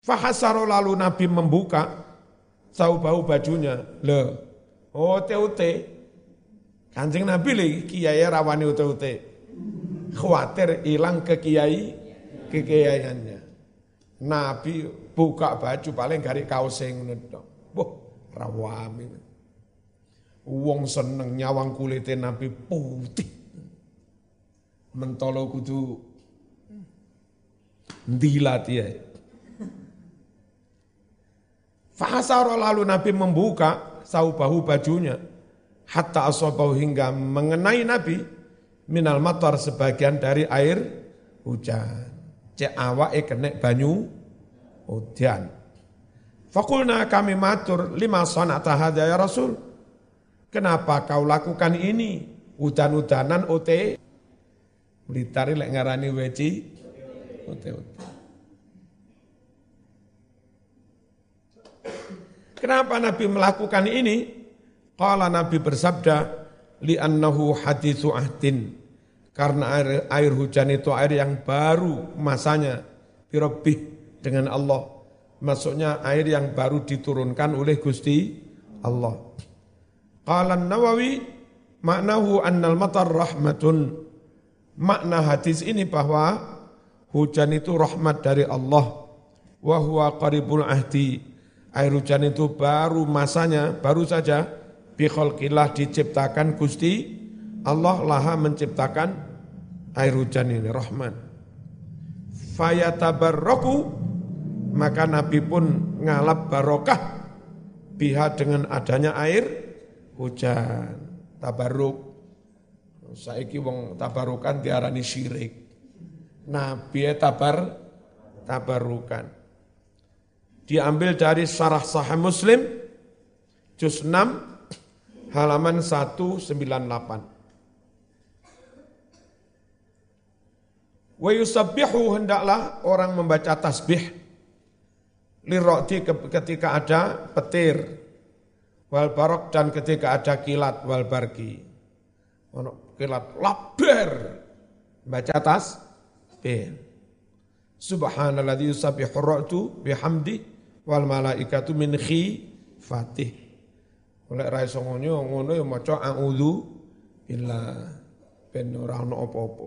Fahasaro lalu Nabi membuka saubahu bajunya. Loh, ote-ote. Kanjeng Nabi lagi kiai rawani ote-ote. Khawatir hilang kekiaiannya. Nabi buka baju paling garik kaos sing ngono. Wah, rawami. Wong seneng nyawang kulite Nabi putih. Mentolo kudu ndilat ya. Fahasara lalu Nabi membuka saubahu bajunya hatta asabahu hingga mengenai Nabi minal matar sebagian dari air hujan. Cek awake kena banyu hujan. Fakulna kami matur lima sanata hadza ya Rasul. Kenapa kau lakukan ini? Udan-udanan ote. Blitari lek ngarani weci ote-ote. Kenapa Nabi melakukan ini? Qala Nabi bersabda, li'annahu hadithu ahdin. Karena air hujan itu air yang baru masanya, birabbih dengan Allah. Maksudnya air yang baru diturunkan oleh Gusti Allah. Qala Nawawi, maknahu annal matar rahmatun. Makna hadis ini bahwa hujan itu rahmat dari Allah. Wa huwa qaribul ahdi. Air hujan itu baru masanya, baru saja bi khalqillah diciptakan Gusti Allah laha menciptakan air hujan ini rahmat. Fayatabarraku, maka Nabi pun ngalap barokah biha dengan adanya air hujan. Tabarruk. Saiki wong tabarukan diarani syirik. Nabi tabarukan. Diambil dari Syarah Sahih Muslim juz 6 halaman 198. Wa yusabbihu, hendaklah orang membaca tasbih lirra'di ketika ada petir, wal barok dan ketika ada kilat, wal barki. Ono kilat laber baca tasbih. Subhanalladzi yusabbihu ar-ra'du bihamdi wal malaikatu min khifatih. Oleh ra iso ngono ya maca a'udzu billah ben ora ono apa-apa.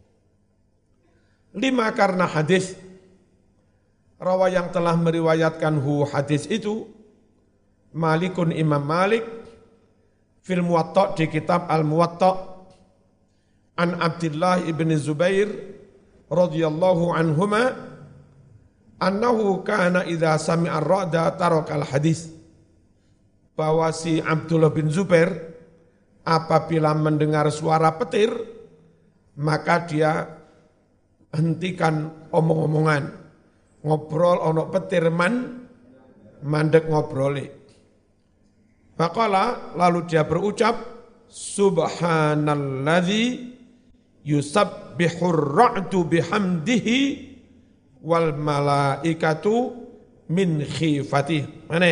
5 karena hadis rawa yang telah meriwayatkan hadis itu Malikun Imam Malik fil Muwatta di kitab Al-Muwatta an Abdullah ibn Zubair radhiyallahu anhuma annahu kana idza sami'a ar-ra'da tarakal hadis, bahwa si Abdullah bin Zubair apabila mendengar suara petir maka dia hentikan omong-omongan, ngobrol ono petir mandek ngobroli. Faqala, lalu dia berucap, subhanalladzi yusabbihur ra'du bihamdihi wal malaikatu min khifatih. Mana?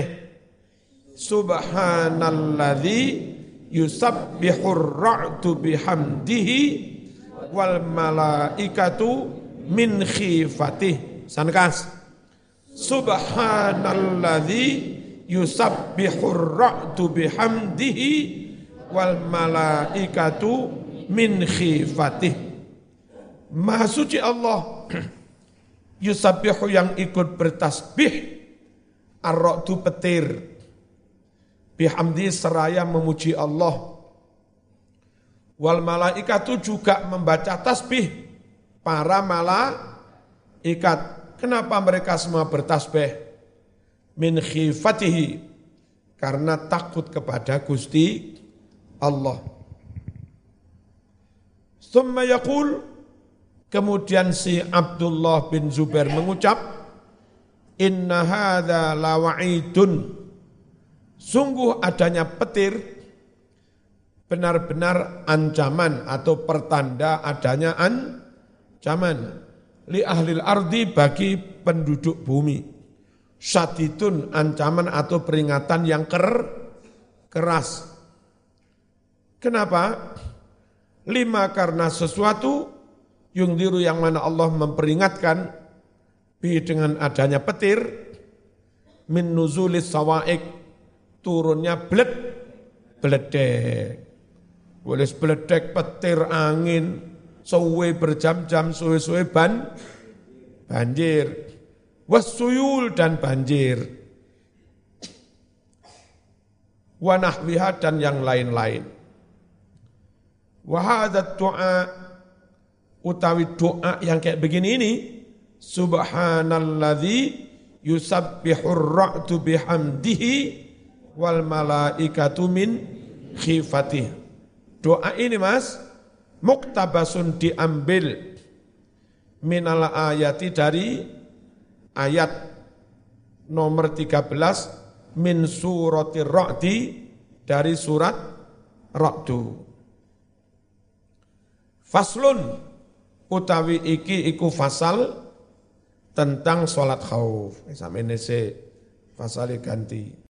Subhanalladzi yusabbihur ra'du bihamdihi wal malaikatu min khifatih. Sankas. Subhanalladzi yusabbihur ra'du bihamdihi wal malaikatu min khifatih. Maha suci Allah yusabbihu yang ikut bertasbih ar-ra'du petir bihamdi seraya memuji Allah, wal malaikatu juga membaca tasbih para malaikat. Kenapa mereka semua bertasbih? Min khifatihi, karena takut kepada Gusti Allah. Tsumma yaqul, kemudian si Abdullah bin Zubair mengucap, inna hadza lawa'idun, sungguh adanya petir benar-benar ancaman atau pertanda adanya ancaman li ahlil ardi, bagi penduduk bumi. Syadidun, ancaman atau peringatan yang keras. Kenapa? 5 karena sesuatu yungdiru yang mana Allah memperingatkan dengan adanya petir, min nuzulis sawaik, turunnya beledek. Boleh beledek, petir, angin, suwe berjam-jam, suwe-suwe banjir. Wassuyul dan banjir. Wanahwiha dan yang lain-lain. Wahadat doa, utawi doa yang kayak begini ini, subhanalladzi yusabbihur ra'du bihamdihi wal malaikatu min khifatih. Doa ini Mas, muktabasun diambil minal ayati dari ayat nomor 13 min suratir ra'di dari surat Ra'du. Faslun utawi iki iku fasal tentang sholat khauf. Sampai nese fasal ganti.